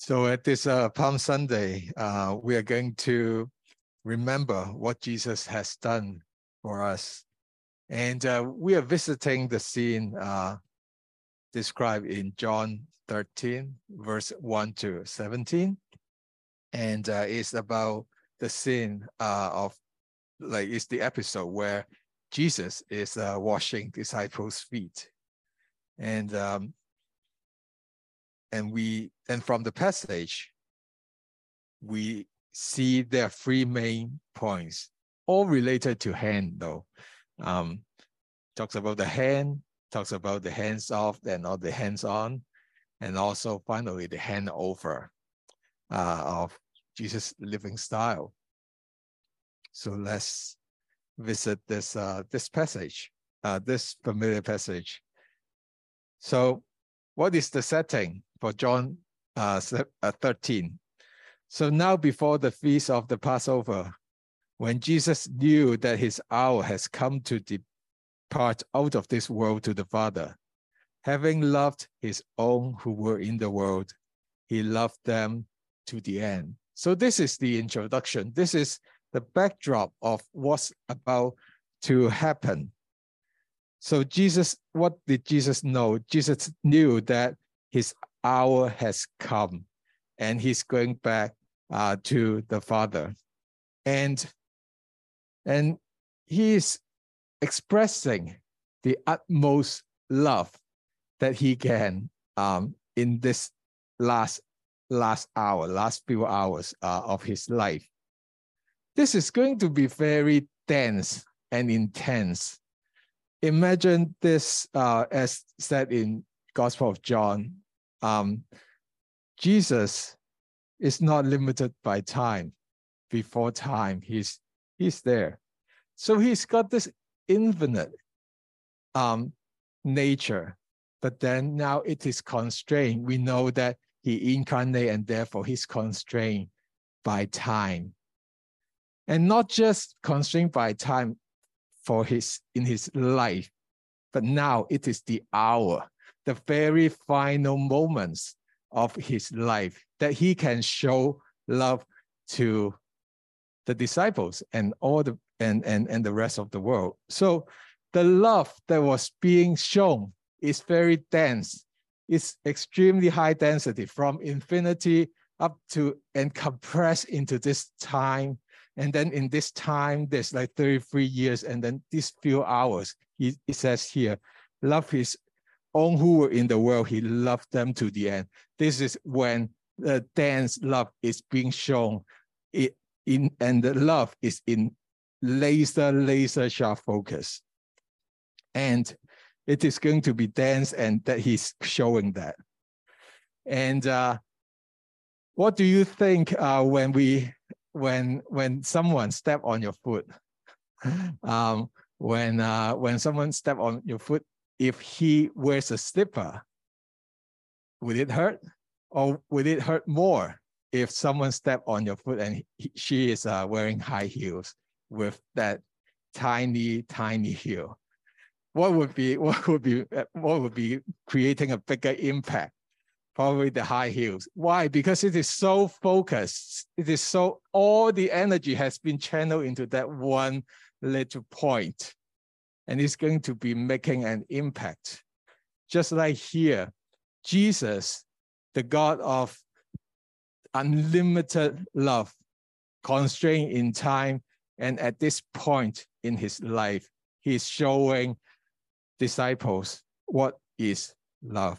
So at this Palm Sunday, we are going to remember what Jesus has done for us. And we are visiting the scene described in John 13, verse 1 to 17. And it's about the scene it's the episode where Jesus is washing disciples' feet. And from the passage, we see there are three main points, all related to hand, though. Talks about the hand, talks about the hands off and not the hands on, and also finally the hand over of Jesus' living style. So let's visit this passage, this familiar passage. So what is the setting for John 13? So now before the feast of the Passover, when Jesus knew that his hour has come to depart out of this world to the Father, having loved his own who were in the world, he loved them to the end. So this is the introduction. This is the backdrop of what's about to happen. So what did Jesus know? Jesus knew that his hour has come and he's going back to the Father. And he is expressing the utmost love that he can in this last few hours of his life. This is going to be very dense and intense. Imagine this as said in Gospel of John. Jesus is not limited by time. Before time, he's there. So he's got this infinite nature, but then now it is constrained. We know that he incarnated and therefore he's constrained by time. And not just constrained by time in his life, but now it is the hour, the very final moments of his life that he can show love to the disciples and the rest of the world. So the love that was being shown is very dense. It's extremely high density from infinity up to and compressed into this time. And then in this time, there's like 33 years, and then these few hours, it says here, love his own who were in the world, he loved them to the end. This is when the dense love is being shown, and the love is in laser sharp focus. And it is going to be dense, and that he's showing that. And what do you think when someone step on your foot? When someone step on your foot, if he wears a slipper, would it hurt? Or would it hurt more if someone step on your foot and she is wearing high heels with that tiny heel? What would be creating a bigger impact? Probably the high heels. Why? Because it is so focused. It is so, all the energy has been channeled into that one little point, and it's going to be making an impact. Just like here, Jesus, the God of unlimited love, constrained in time, and at this point in his life, he's showing disciples what is love.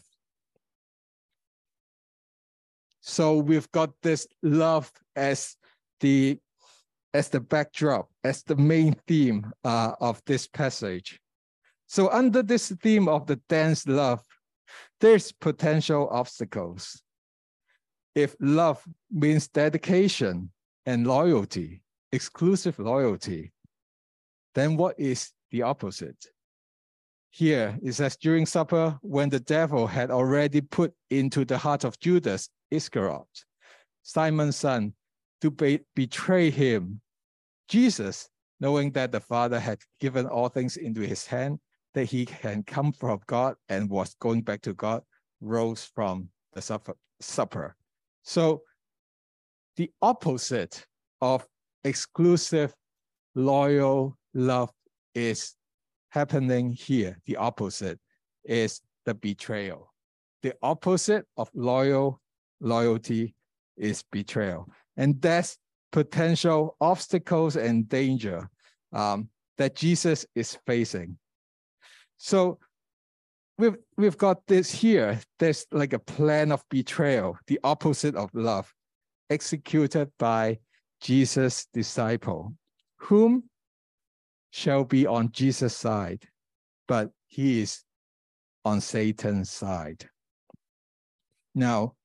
So we've got this love as the backdrop, as the main theme of this passage. So under this theme of the dense love, there's potential obstacles. If love means dedication and loyalty, exclusive loyalty, then what is the opposite? Here it says, during supper, when the devil had already put into the heart of Judas Iscariot, Simon's son, to betray him, Jesus, knowing that the Father had given all things into his hand, that he can come from God and was going back to God, rose from the supper. So the opposite of exclusive, loyal love is happening here. The opposite is the betrayal. The opposite of loyalty is betrayal. And that's potential obstacles and danger that Jesus is facing. So we've got this here. There's like a plan of betrayal, the opposite of love, executed by Jesus' disciple, whom shall be on Jesus' side, but he is on Satan's side. Now,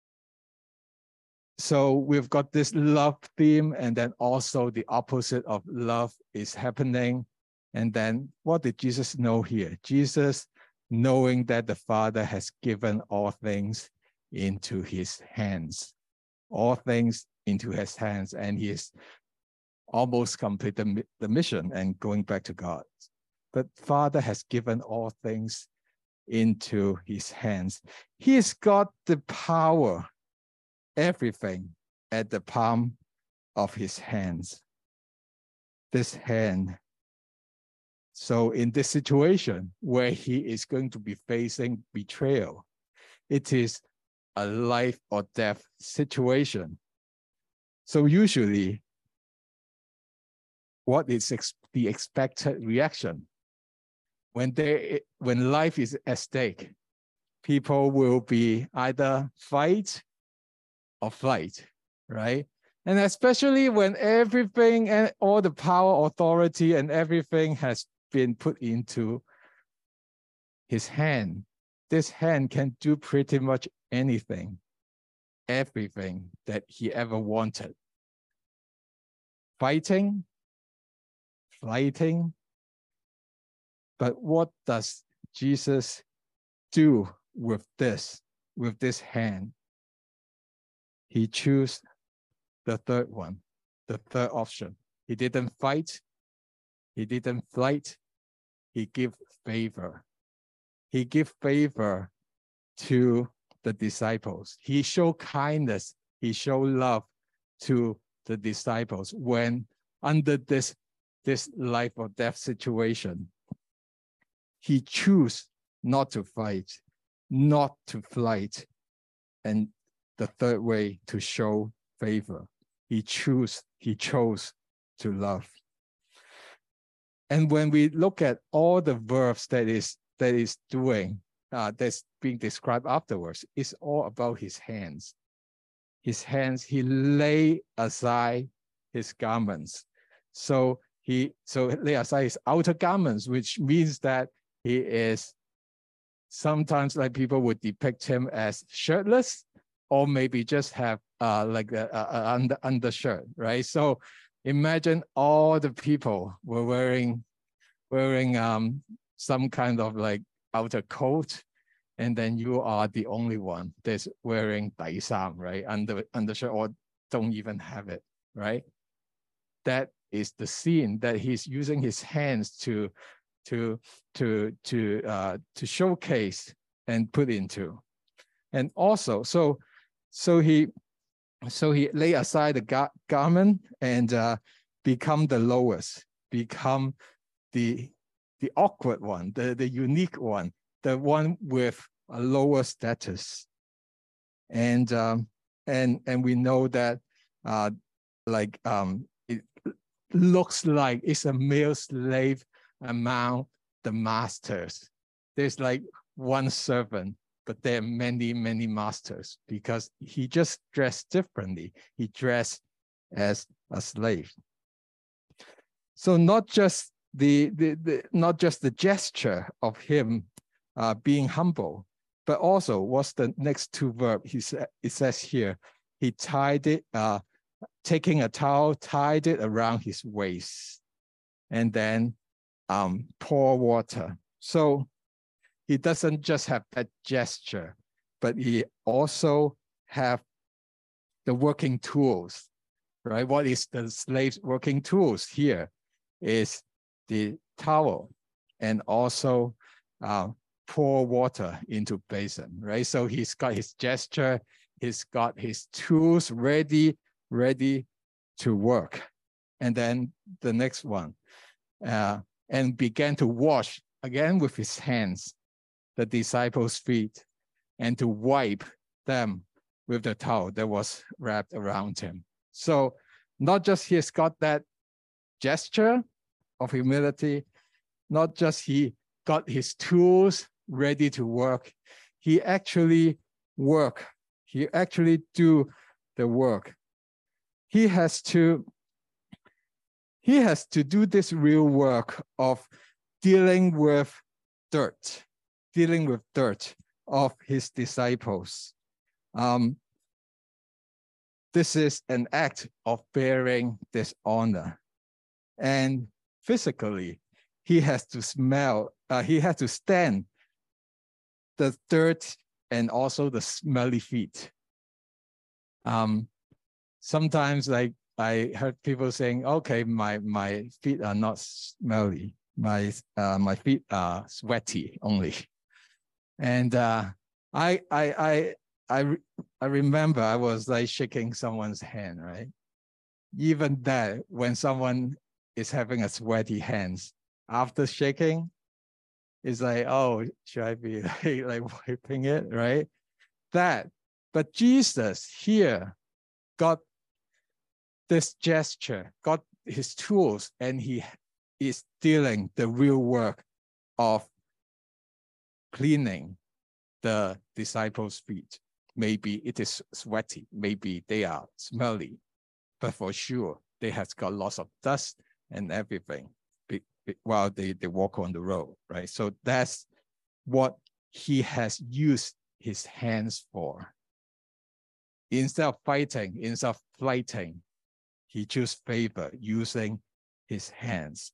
so we've got this love theme, and then also the opposite of love is happening. And then what did Jesus know here? Jesus, knowing that the Father has given all things into his hands, all things into his hands, and he is almost completed the mission and going back to God. But Father has given all things into his hands. He's got the power, everything at the palm of his hands. This hand. So in this situation where he is going to be facing betrayal, it is a life or death situation. So usually, what is the expected reaction? When life is at stake, people will be either fight or flight, right? And especially when everything and all the power, authority, and everything has been put into his hand. This hand can do pretty much anything, everything that he ever wanted. Fighting, flighting. But what does Jesus do with this hand? He chose the third one, the third option. He didn't fight. He didn't flight. He gave favor. He gave favor to the disciples. He showed kindness. He showed love to the disciples when under this life or death situation. He chose not to fight, not to flight, and the third way to show favor. He chose to love. And when we look at all the verbs that is doing, that's being described afterwards, it's all about his hands. His hands, he lay aside his garments. So lay aside his outer garments, which means that he is sometimes like people would depict him as shirtless, or maybe just have like a undershirt, right? So imagine all the people were wearing some kind of like outer coat, and then you are the only one that's wearing 底衫, right? Undershirt, or don't even have it, right? That is the scene that he's using his hands to showcase and put into. And also, so he lay aside the garment and become the lowest, become the awkward one, the unique one, the one with a lower status. And we know that it looks like it's a male slave among the masters. There's like one servant, but there are many, many masters, because he just dressed differently. He dressed as a slave. So not just the gesture of him being humble, but also what's the next two verbs? It says here, he tied it, taking a towel, tied it around his waist, and then pour water. So he doesn't just have that gesture, but he also have the working tools, right? What is the slave's working tools here is the towel, and also pour water into basin, right? So he's got his gesture, he's got his tools ready to work. And then the next one, and began to wash again with his hands the disciples' feet and to wipe them with the towel that was wrapped around him. So not just he's got that gesture of humility, not just he got his tools ready to work, he actually work. He actually do the work. He has to do this real work of dealing with dirt of his disciples. This is an act of bearing dishonor. And physically, he has to stand the dirt and also the smelly feet. Sometimes like I heard people saying, okay, my feet are not smelly. My feet are sweaty only. And I remember I was like shaking someone's hand, right? Even that, when someone is having a sweaty hands, after shaking, it's like, oh, should I be like wiping it, right? That, but Jesus here got this gesture, got his tools, and he is dealing the real work of cleaning the disciples' feet. Maybe it is sweaty, maybe they are smelly, but for sure, they have got lots of dust and everything while they walk on the road, right? So that's what he has used his hands for. Instead of fighting, instead of fighting, he chose favor using his hands.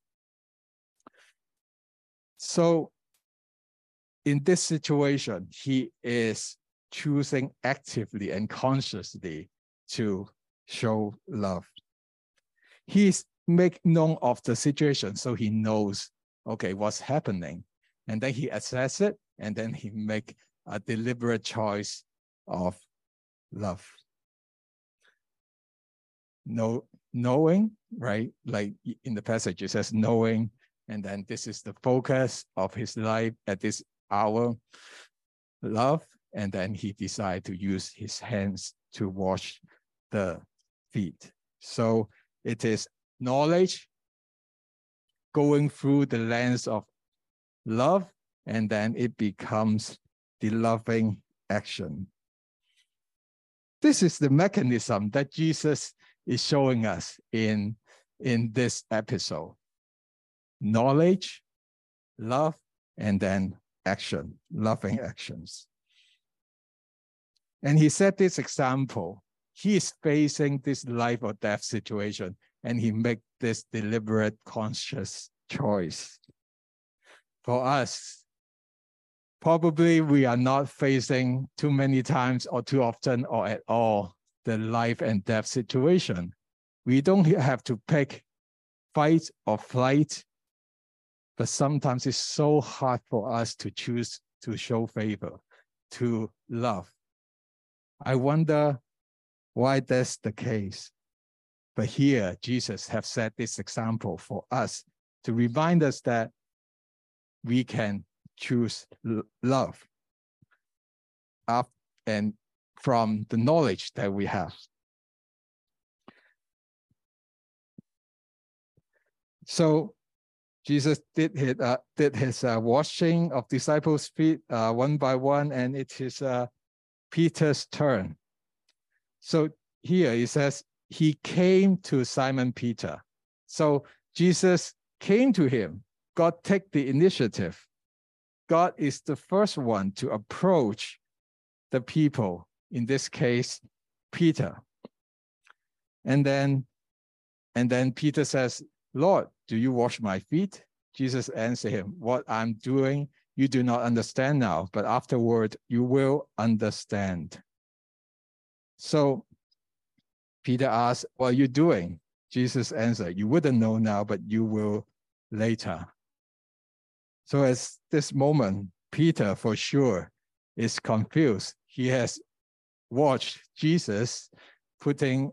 So in this situation, he is choosing actively and consciously to show love. He's make known of the situation, so he knows, okay, what's happening. And then he assess it, and then he make a deliberate choice of love. Knowing, right? Like in the passage, it says knowing, and then this is the focus of his life at this hour, love, and then he decided to use his hands to wash the feet. So it is knowledge going through the lens of love, and then it becomes the loving action. This is the mechanism that Jesus is showing us in this episode. Knowledge, love, and then action, loving actions. And he set this example. He is facing this life or death situation, and he make this deliberate, conscious choice. For us, probably we are not facing too many times or too often or at all the life and death situation. We don't have to pick fight or flight, but sometimes it's so hard for us to choose to show favor, to love. I wonder why that's the case. But here, Jesus has set this example for us to remind us that we can choose love and from the knowledge that we have. So Jesus did his washing of disciples' feet one by one, and it is Peter's turn. So here it says, he came to Simon Peter. So Jesus came to him. God take the initiative. God is the first one to approach the people, in this case, Peter. And then Peter says, Lord, do you wash my feet? Jesus answered him, what I'm doing, you do not understand now, but afterward you will understand. So Peter asked, what are you doing? Jesus answered, you wouldn't know now, but you will later. So at this moment, Peter for sure is confused. He has watched Jesus putting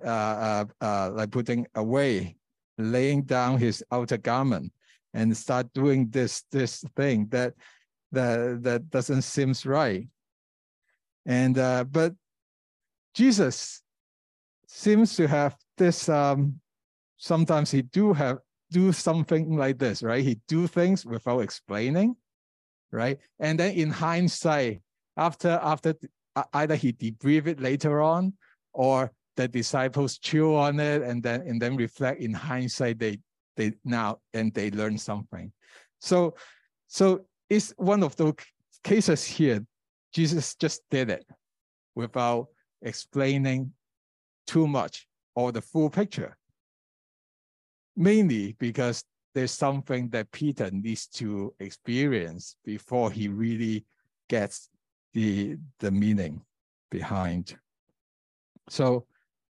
away, laying down his outer garment, and start doing this thing that doesn't seem right. And but Jesus seems to have this. Sometimes he do something like this, right? He do things without explaining, right? And then in hindsight, after either he debrief it later on, or the disciples chew on it and then reflect in hindsight, they learn something. So it's one of those cases here. Jesus just did it without explaining too much or the full picture. Mainly because there's something that Peter needs to experience before he really gets the meaning behind. So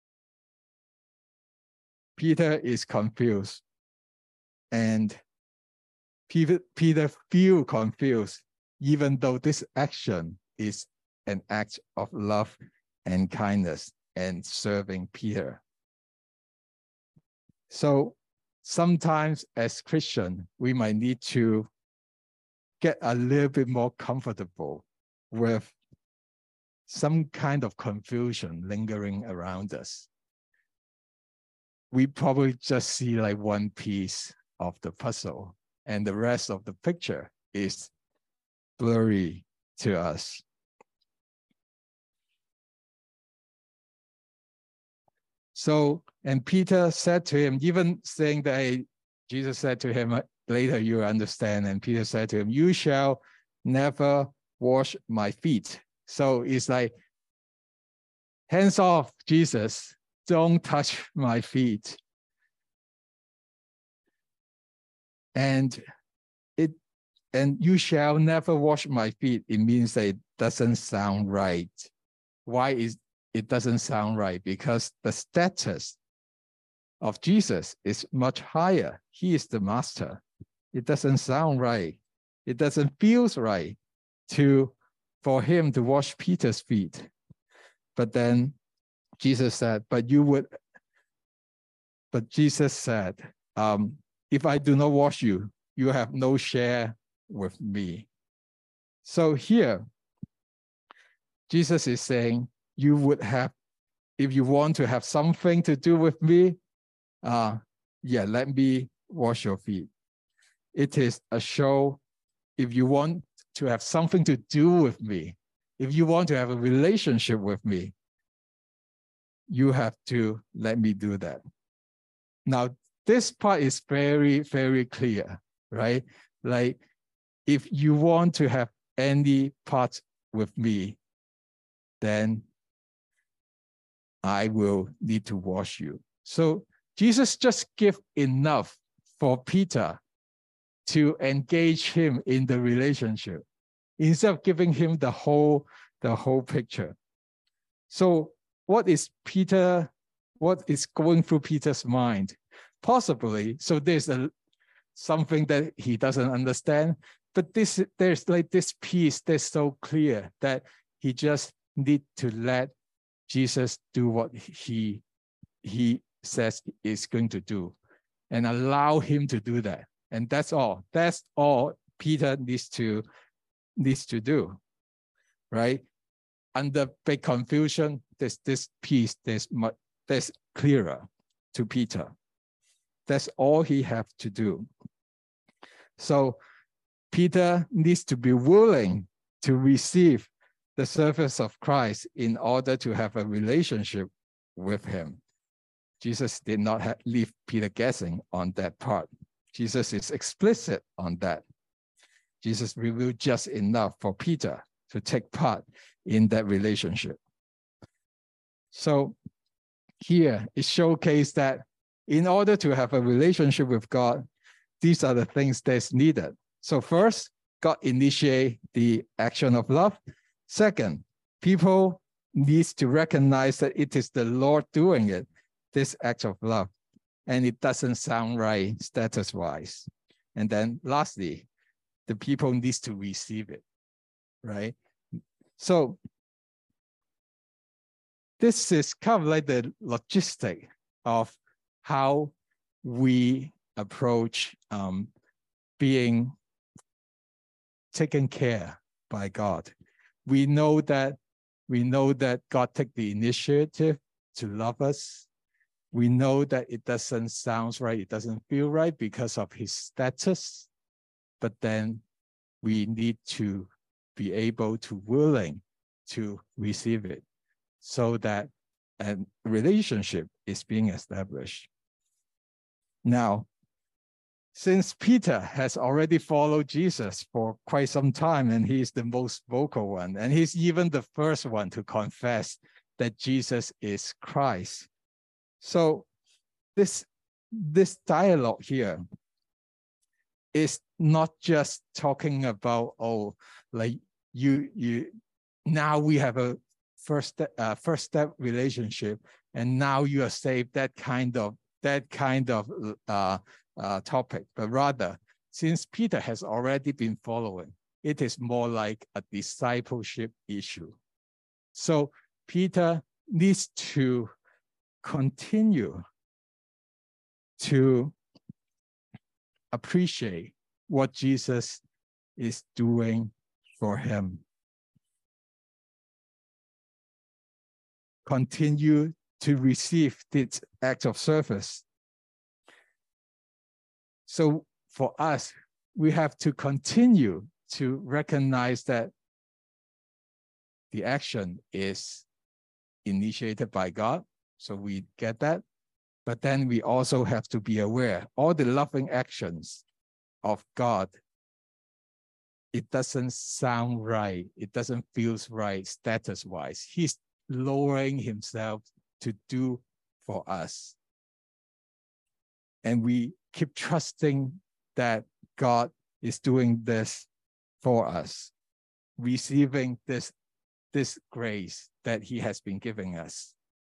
Peter is confused, and Peter feels confused, even though this action is an act of love and kindness and serving Peter. So sometimes as Christians, we might need to get a little bit more comfortable with some kind of confusion lingering around us. We probably just see like one piece of the puzzle, and the rest of the picture is blurry to us. So, and Peter said to him, even saying that Jesus said to him, later you understand, and Peter said to him, you shall never wash my feet. So it's like, hands off, Jesus, don't touch my feet. And you shall never wash my feet. It means that it doesn't sound right. Why is it doesn't sound right? Because the status of Jesus is much higher. He is the master. It doesn't sound right. It doesn't feel right for him to wash Peter's feet. But then Jesus said, but Jesus said, if I do not wash you, you have no share with me. So here, Jesus is saying, you would have, if you want to have something to do with me, let me wash your feet. It is a show. If you want to have something to do with me, if you want to have a relationship with me, you have to let me do that. Now, this part is very, very clear, right? Like, if you want to have any part with me, then I will need to wash you. So Jesus just give enough for Peter to engage him in the relationship, instead of giving him the whole picture. So what is going through Peter's mind? Possibly, so there's something that he doesn't understand, but there's like this piece that's so clear that he just need to let Jesus do what he says is going to do, and allow him to do that. And that's all. That's all Peter needs to do, right? Under big confusion, there's this piece that's clearer to Peter. That's all he has to do. So Peter needs to be willing to receive the service of Christ in order to have a relationship with him. Jesus did not leave Peter guessing on that part. Jesus is explicit on that. Jesus revealed just enough for Peter to take part in that relationship. So here it showcased that in order to have a relationship with God, these are the things that's needed. So first, God initiate the action of love. Second, people need to recognize that it is the Lord doing it, this act of love, and it doesn't sound right status-wise. And then lastly, the people need to receive it, right? So this is kind of like the logistic of how we approach being taken care by God. We know that God took the initiative to love us. We know that it doesn't sound right, it doesn't feel right because of his status, but then we need to be able to willing to receive it so that a relationship is being established. Now, since Peter has already followed Jesus for quite some time, and he's the most vocal one, and he's even the first one to confess that Jesus is Christ. So this dialogue here is not just talking about, oh, like you now we have a first step relationship, and now you are saved, that kind of topic, but rather, since Peter has already been following, it is more like a discipleship issue. So Peter needs to continue to appreciate what Jesus is doing for him. Continue to receive this act of service. So for us, we have to continue to recognize that the action is initiated by God. So we get that. But then we also have to be aware, all the loving actions of God, it doesn't sound right. It doesn't feel right status-wise. He's lowering himself to do for us. And we keep trusting that God is doing this for us, receiving this grace that he has been giving us.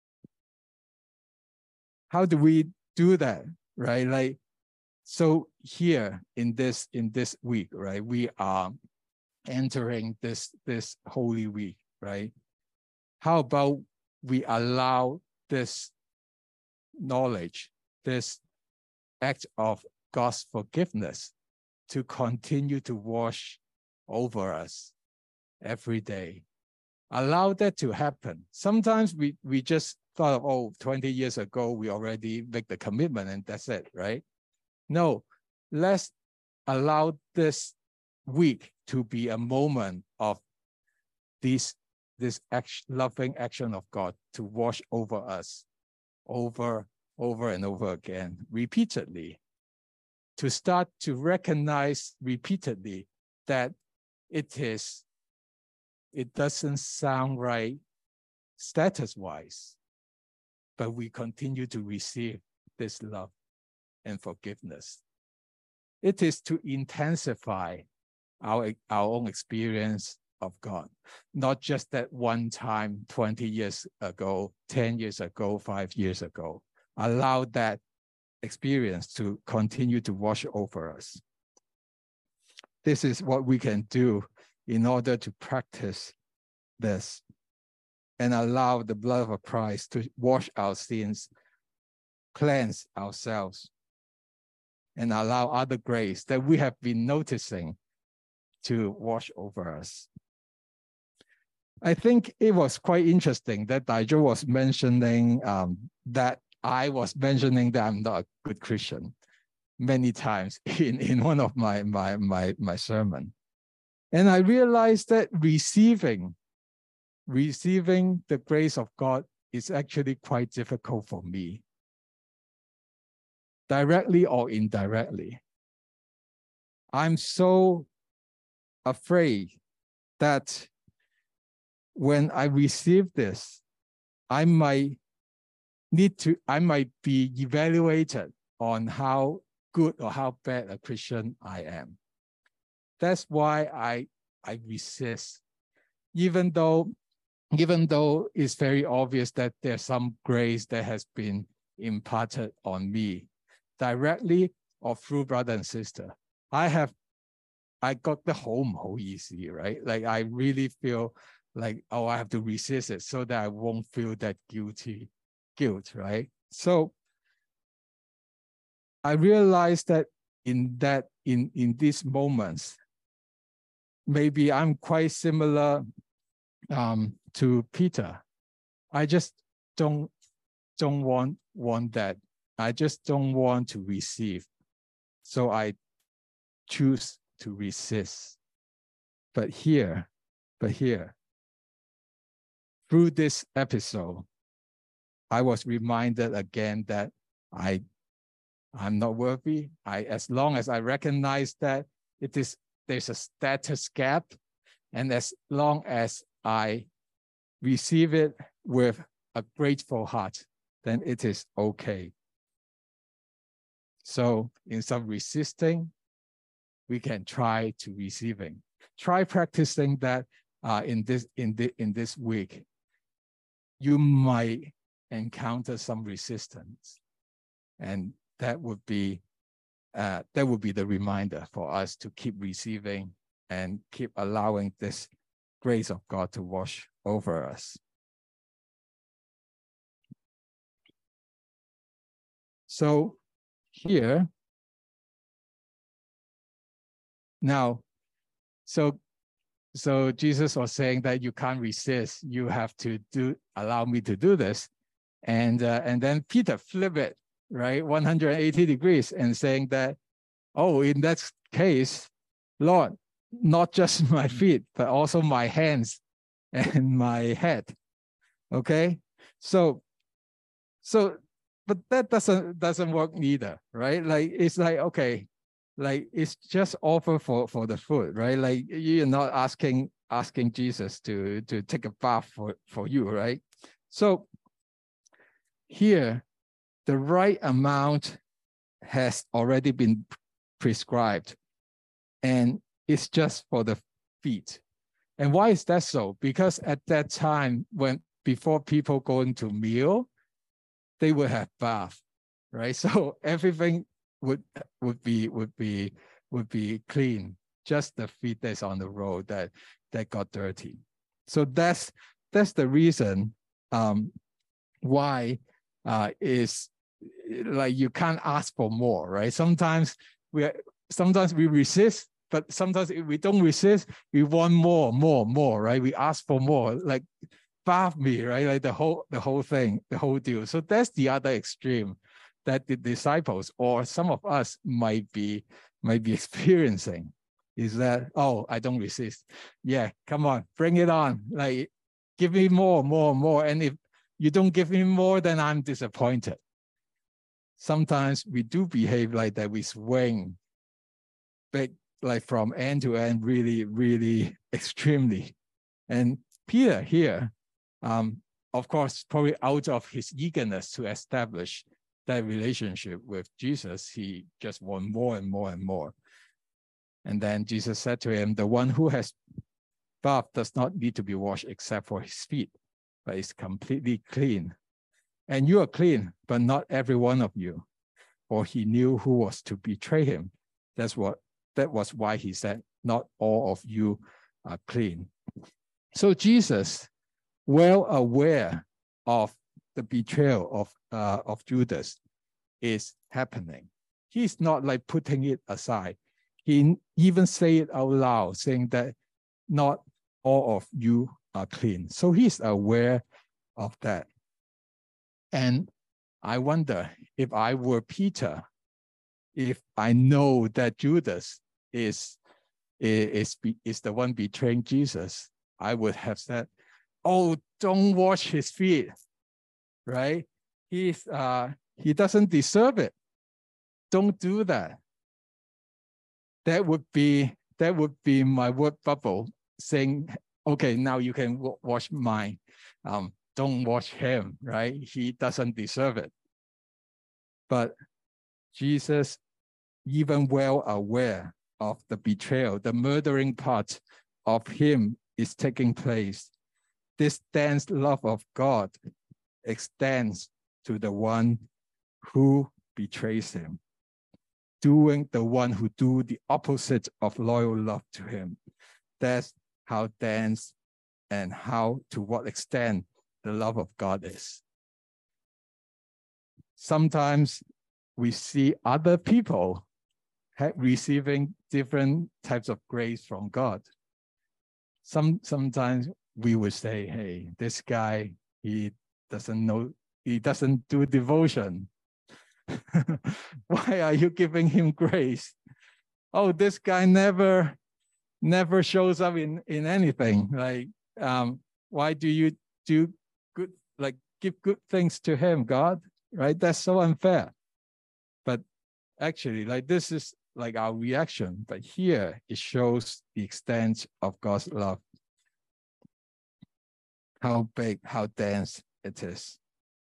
How do we do that, right? Like, so here in this week, right, we are entering this Holy Week, right? How about we allow this knowledge, this act of God's forgiveness to continue to wash over us every day? Allow that to happen. Sometimes we just thought of, oh, 20 years ago, we already make the commitment and that's it, right? No, let's allow this week to be a moment of this loving action of God to wash over us over and over again, repeatedly, to start to recognize repeatedly that it doesn't sound right status-wise, but we continue to receive this love and forgiveness. It is to intensify our own experience of God, not just that one time 20 years ago, 10 years ago, 5 years ago. Allow that experience to continue to wash over us. This is what we can do in order to practice this and allow the blood of Christ to wash our sins, cleanse ourselves, and allow other grace that we have been noticing to wash over us. I think it was quite interesting that Daijo was mentioning that I was mentioning that I'm not a good Christian many times in one of my sermon. And I realized that receiving the grace of God is actually quite difficult for me, directly or indirectly. I'm so afraid that when I receive this, I might be evaluated on how good or how bad a Christian I am. That's why I resist, even though it's very obvious that there's some grace that has been imparted on me, directly or through brother and sister. I got the home easy, right? Like I really feel like, oh, I have to resist it so that I won't feel that guilt, right? So I realized that in these moments, maybe I'm quite similar to Peter. I just don't want that. I just don't want to receive. So I choose to resist. But here, through this episode, I was reminded again that I'm not worthy. As long as I recognize that there's a status gap, and as long as I receive it with a grateful heart, then it is okay. So instead of resisting, we can try to receiving. Try practicing that in this week. You might encounter some resistance, and that would be the reminder for us to keep receiving and keep allowing this grace of God to wash over us. So here, now, so Jesus was saying that you can't resist. You have to allow me to do this. And then Peter flipped it, right, 180 degrees, and saying that, oh, in that case, Lord, not just my feet, but also my hands and my head. Okay, so but that doesn't work either, right? Like, it's like, okay, like, it's just offer for the food, right? Like, you're not asking Jesus to take a bath for you, right? So here, the right amount has already been prescribed, and it's just for the feet. And why is that so? Because at that time, before people go into meal, they would have bath, right? So everything would be clean. Just the feet that's on the road that got dirty. So that's the reason why is like, you can't ask for more, right? Sometimes we resist, but sometimes if we don't resist, we want more, right? We ask for more, like, bath me, right? Like the whole thing, the whole deal. So that's the other extreme that the disciples or some of us might be experiencing, is that, oh, I don't resist. Yeah, come on, bring it on. Like, give me more. And if you don't give me more, then I'm disappointed. Sometimes we do behave like that. We swing big, like from end to end, really, really extremely. And Peter here, of course, probably out of his eagerness to establish that relationship with Jesus, he just want more and more and more. And then Jesus said to him, the one who has bathed does not need to be washed except for his feet, but is completely clean. And you are clean, but not every one of you. For he knew who was to betray him. That was why he said, not all of you are clean. So Jesus, well aware of the betrayal of Judas, is happening. He's not like putting it aside. He even say it out loud, saying that not all of you are clean. So he's aware of that. And I wonder, if I were Peter, if I know that Judas is the one betraying Jesus, I would have said, oh, don't wash his feet, right? He doesn't deserve it. Don't do that. That would be my word bubble saying, okay, now you can wash mine. Don't wash him, right? He doesn't deserve it. But Jesus, even well aware of the betrayal, the murdering part of him is taking place. This dense love of God extends to the one who betrays him, doing the one who do the opposite of loyal love to him. That's how dense and to what extent the love of God is. Sometimes we see other people receiving different types of grace from God. Sometimes we would say, hey, this guy, he doesn't do devotion. Why are you giving him grace? Oh, this guy never shows up in anything. Like, why do you do good, like give good things to him, God? Right? That's so unfair. But actually, like, this is like our reaction. But here it shows the extent of God's love. How big, how dense it is.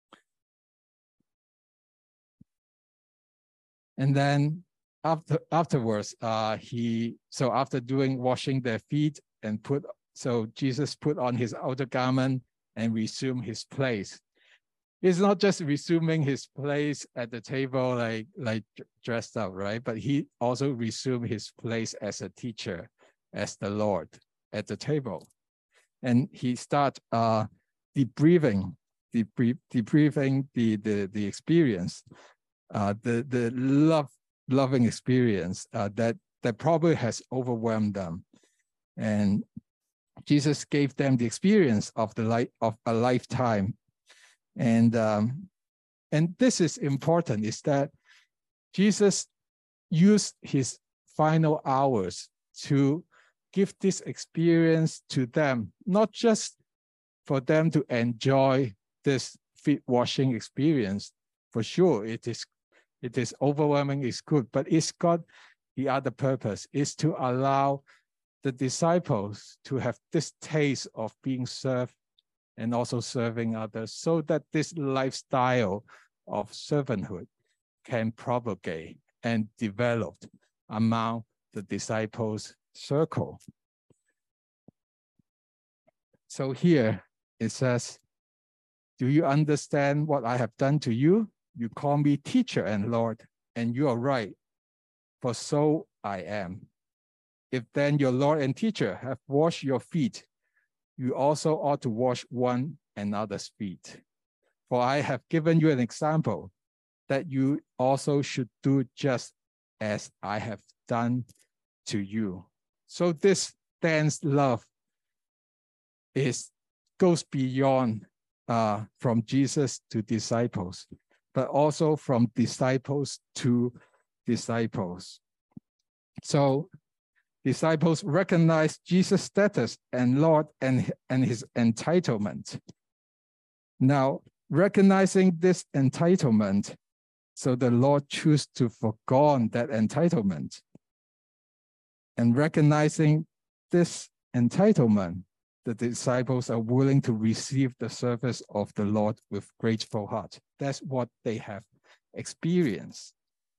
And then afterwards, after washing their feet and Jesus put on his outer garment and resumed his place. It's not just resuming his place at the table like dressed up, right? But he also resumed his place as a teacher, as the Lord at the table. And he started debriefing the experience, the loving experience that probably has overwhelmed them. And Jesus gave them the experience of a lifetime. And this is important, is that Jesus used his final hours to give this experience to them, not just for them to enjoy this feet washing experience. For sure, it is overwhelming, it's good, but it's got the other purpose, is to allow the disciples to have this taste of being served and also serving others, so that this lifestyle of servanthood can propagate and develop among the disciples' circle. So here it says, do you understand what I have done to you? You call me teacher and Lord, and you are right, for so I am. If then your Lord and teacher have washed your feet, you also ought to wash one another's feet. For I have given you an example that you also should do just as I have done to you. So this dense love goes beyond from Jesus to disciples, but also from disciples to disciples. So disciples recognize Jesus' status and Lord and his entitlement. Now, recognizing this entitlement, so the Lord chose to forego that entitlement. And recognizing this entitlement, the disciples are willing to receive the service of the Lord with grateful heart. That's what they have experienced.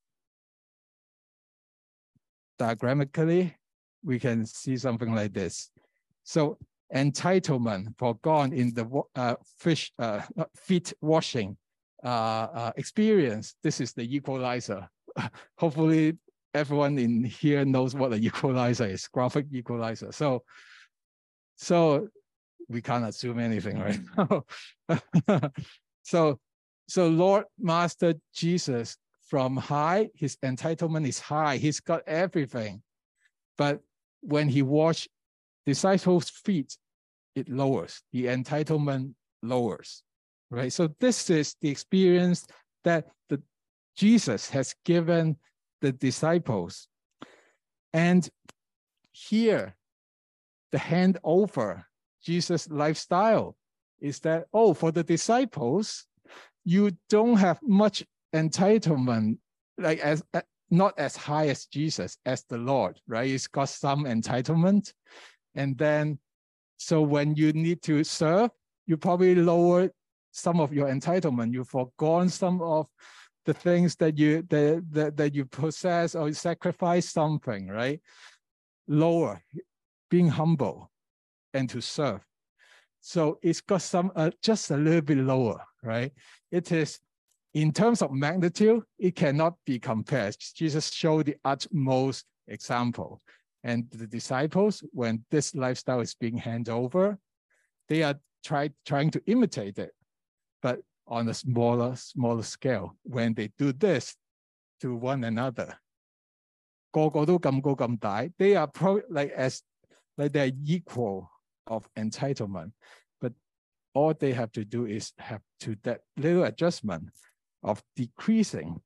Diagrammatically, we can see something like this. So entitlement forgone in the feet washing experience. This is the equalizer. Hopefully everyone in here knows what an equalizer is, graphic equalizer. So we can't assume anything right now. So Lord Master Jesus, from high, his entitlement is high. He's got everything. But when he washed disciples' feet, it lowers. The entitlement lowers, right? So this is the experience that Jesus has given the disciples. And here, the handover, Jesus' lifestyle is that, for the disciples, you don't have much entitlement, like not as high as Jesus, as the Lord, right? It's got some entitlement. And then, so when you need to serve, you probably lower some of your entitlement. You've forgone some of the things that you possess, or you sacrifice something, right? Lower, being humble and to serve. So it's got some, just a little bit lower, right? It is, in terms of magnitude, it cannot be compared. Jesus showed the utmost example. And the disciples, when this lifestyle is being handed over, They are trying to imitate it, but on a smaller scale. When they do this to one another, 個個都咁高咁大, they are like they're equal of entitlement, but all they have to do is have to that little adjustment of decreasing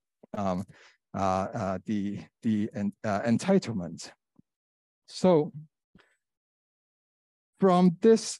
the entitlement. So from this,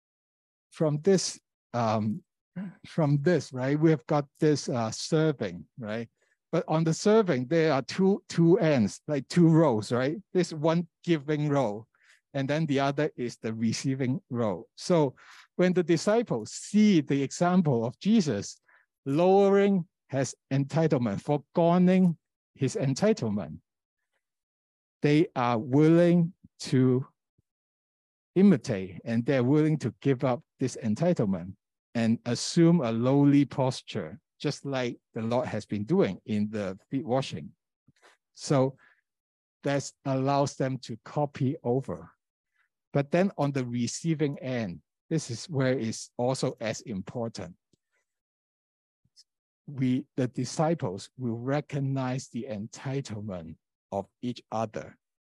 right, we have got this serving, right? But on the serving, there are two ends, like two rows, right? This one giving row, and then the other is the receiving row. So when the disciples see the example of Jesus lowering his entitlement, foregoing his entitlement, they are willing to imitate, and they're willing to give up this entitlement and assume a lowly posture, just like the Lord has been doing in the feet washing. So that allows them to copy over. But then on the receiving end, this is where it's also as important. The disciples will recognize the entitlement of each other,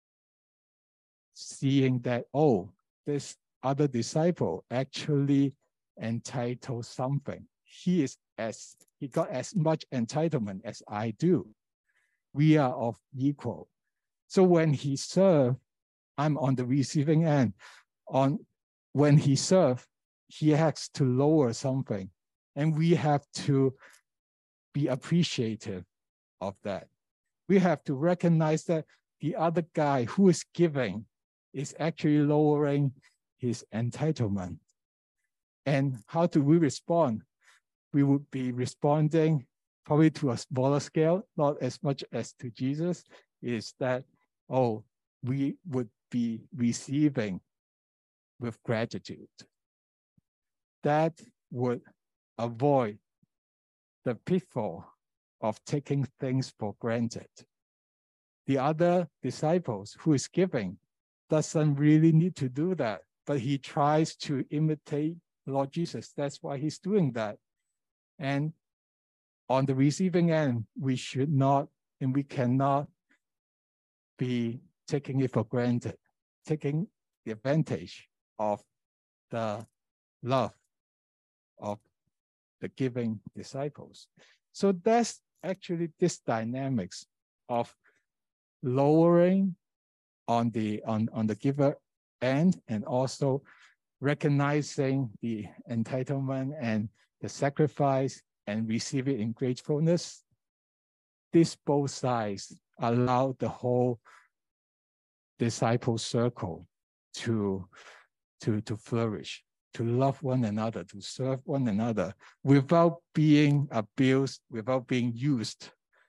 seeing that, oh, this other disciple actually entitled something. He got as much entitlement as I do. We are of equal. So when he served, I'm on the receiving end. When he served, he has to lower something, and we have to be appreciative of that. We have to recognize that the other guy who is giving is actually lowering his entitlement. And how do we respond? We would be responding probably to a smaller scale, not as much as to Jesus, is that, oh, we would be receiving with gratitude. That would avoid the pitfall of taking things for granted. The other disciples who is giving doesn't really need to do that, but he tries to imitate Lord Jesus. That's why he's doing that. And on the receiving end, we should not, and we cannot be taking it for granted, taking the advantage of the love of the giving disciples. So that's actually this dynamics of lowering on the giver end, and also recognizing the entitlement and the sacrifice and receive it in gratefulness. This both sides allow the whole disciple circle to flourish, to love one another, to serve one another without being abused, without being used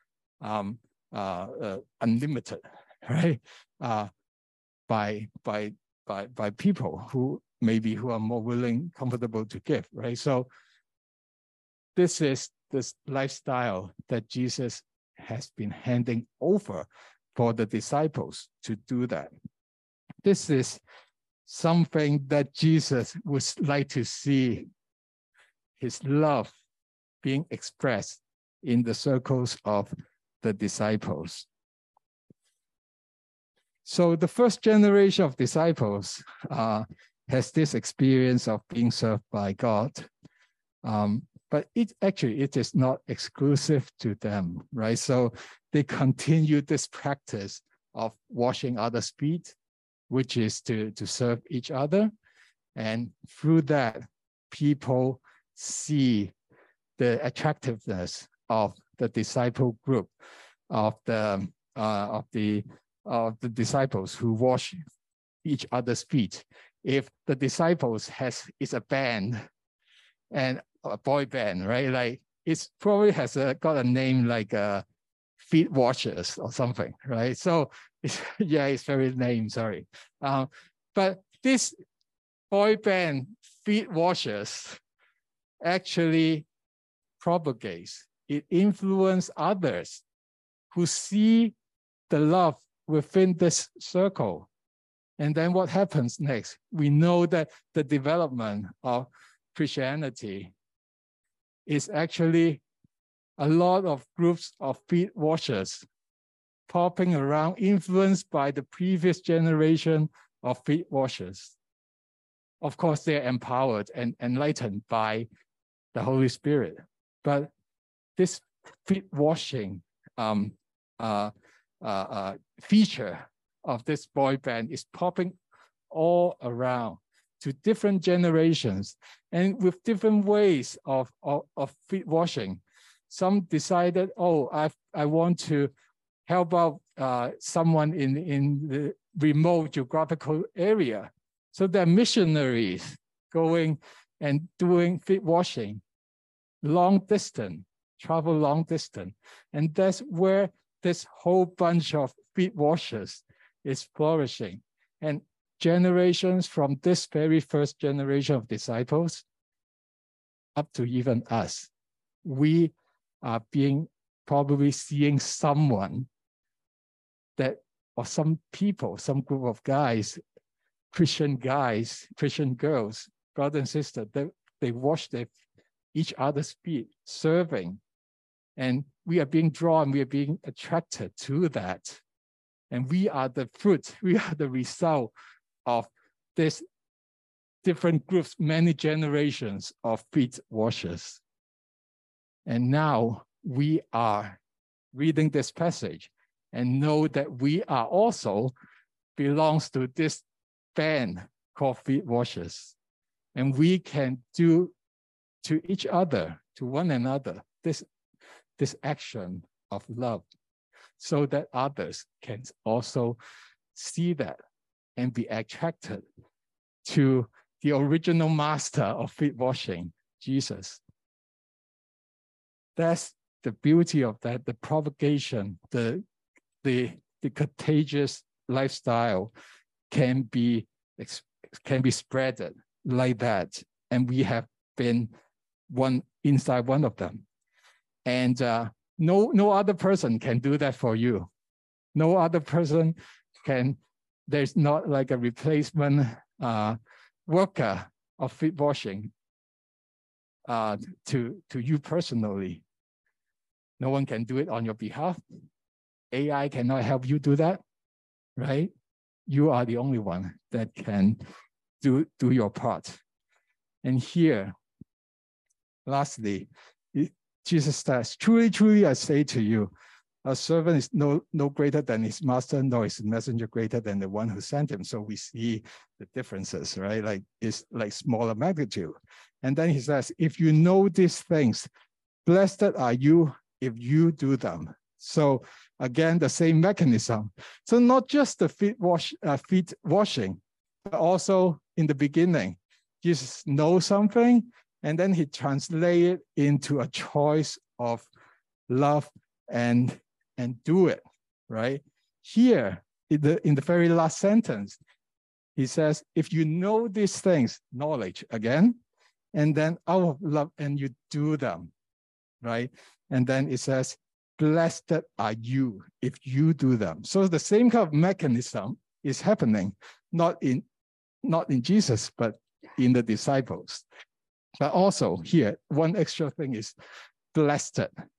unlimited, right? By people who are more willing, comfortable to give, right? So this is this lifestyle that Jesus has been handing over for the disciples to do that. This is something that Jesus would like to see his love being expressed in the circles of the disciples. So the first generation of disciples has this experience of being served by God. But it is not exclusive to them, right? So they continue this practice of washing others' feet, which is to serve each other. And through that, people see the attractiveness of the disciple group, of the disciples who wash each other's feet. If the disciples is a band, and a boy band, right? Like it's probably got a name like Feet Washers or something, right? So it's very lame, sorry. But this boy band, Feet Washers, actually propagates. It influences others who see the love within this circle. And then what happens next? We know that the development of Christianity is actually a lot of groups of feet washers popping around, influenced by the previous generation of feet washers. Of course, they're empowered and enlightened by the Holy Spirit. But this feet washing feature of this boy band is popping all around to different generations and with different ways of feet washing. Some decided, oh, I want to help out someone in the remote geographical area. So they're missionaries going and doing feet washing, long distance, travel long distance. And that's where this whole bunch of feet washers is flourishing. And generations from this very first generation of disciples up to even us, we are probably seeing someone that, or some people, some group of guys, Christian girls, brothers and sisters, they wash each other's feet, serving. And we are being drawn, we are being attracted to that. And we are the fruit, we are the result of this different groups, many generations of feet washers. And now we are reading this passage and know that we are also belongs to this band called feet washers. And we can do to each other, to one another, this action of love so that others can also see that and be attracted to the original master of feet washing, Jesus. That's the beauty of that, the propagation, the contagious lifestyle can be spreaded like that. And we have been inside one of them. And no other person can do that for you. No other person can, there's not like a replacement worker of feet washing to you personally. No one can do it on your behalf. AI cannot help you do that, right? You are the only one that can do your part. And here, lastly, Jesus says, truly, truly, I say to you, a servant is no greater than his master, nor is a messenger greater than the one who sent him. So we see the differences, right? Like it's like smaller magnitude. And then he says, if you know these things, blessed are you if you do them. So again, the same mechanism. So not just the feet washing, but also in the beginning, Jesus knows something, and then he translates it into a choice of love and do it, right? Here, in the very last sentence, he says, if you know these things, knowledge again, and then out of love, and you do them, right? And then it says, blessed are you if you do them. So the same kind of mechanism is happening, not in Jesus, but in the disciples. But also here, one extra thing is blessed.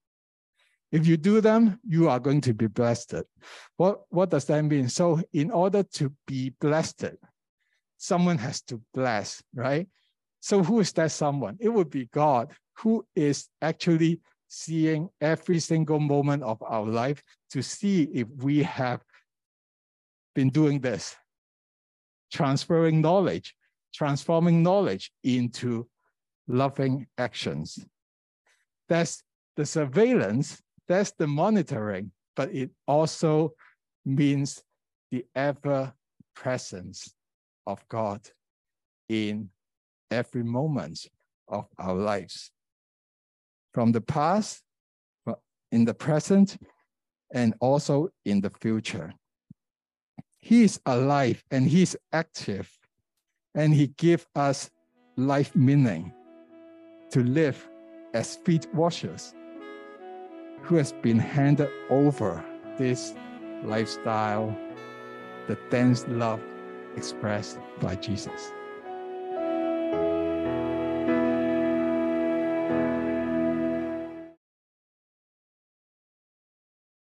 If you do them, you are going to be blessed. What does that mean? So in order to be blessed, someone has to bless, right? So who is that someone? It would be God, who is actually seeing every single moment of our life to see if we have been doing this, transferring knowledge, transforming knowledge into loving actions. That's the surveillance, that's the monitoring, but it also means the ever presence of God in every moment of our lives. From the past, in the present, and also in the future. He is alive and he's active, and he gives us life meaning to live as feet washers who has been handed over this lifestyle, the dense love expressed by Jesus.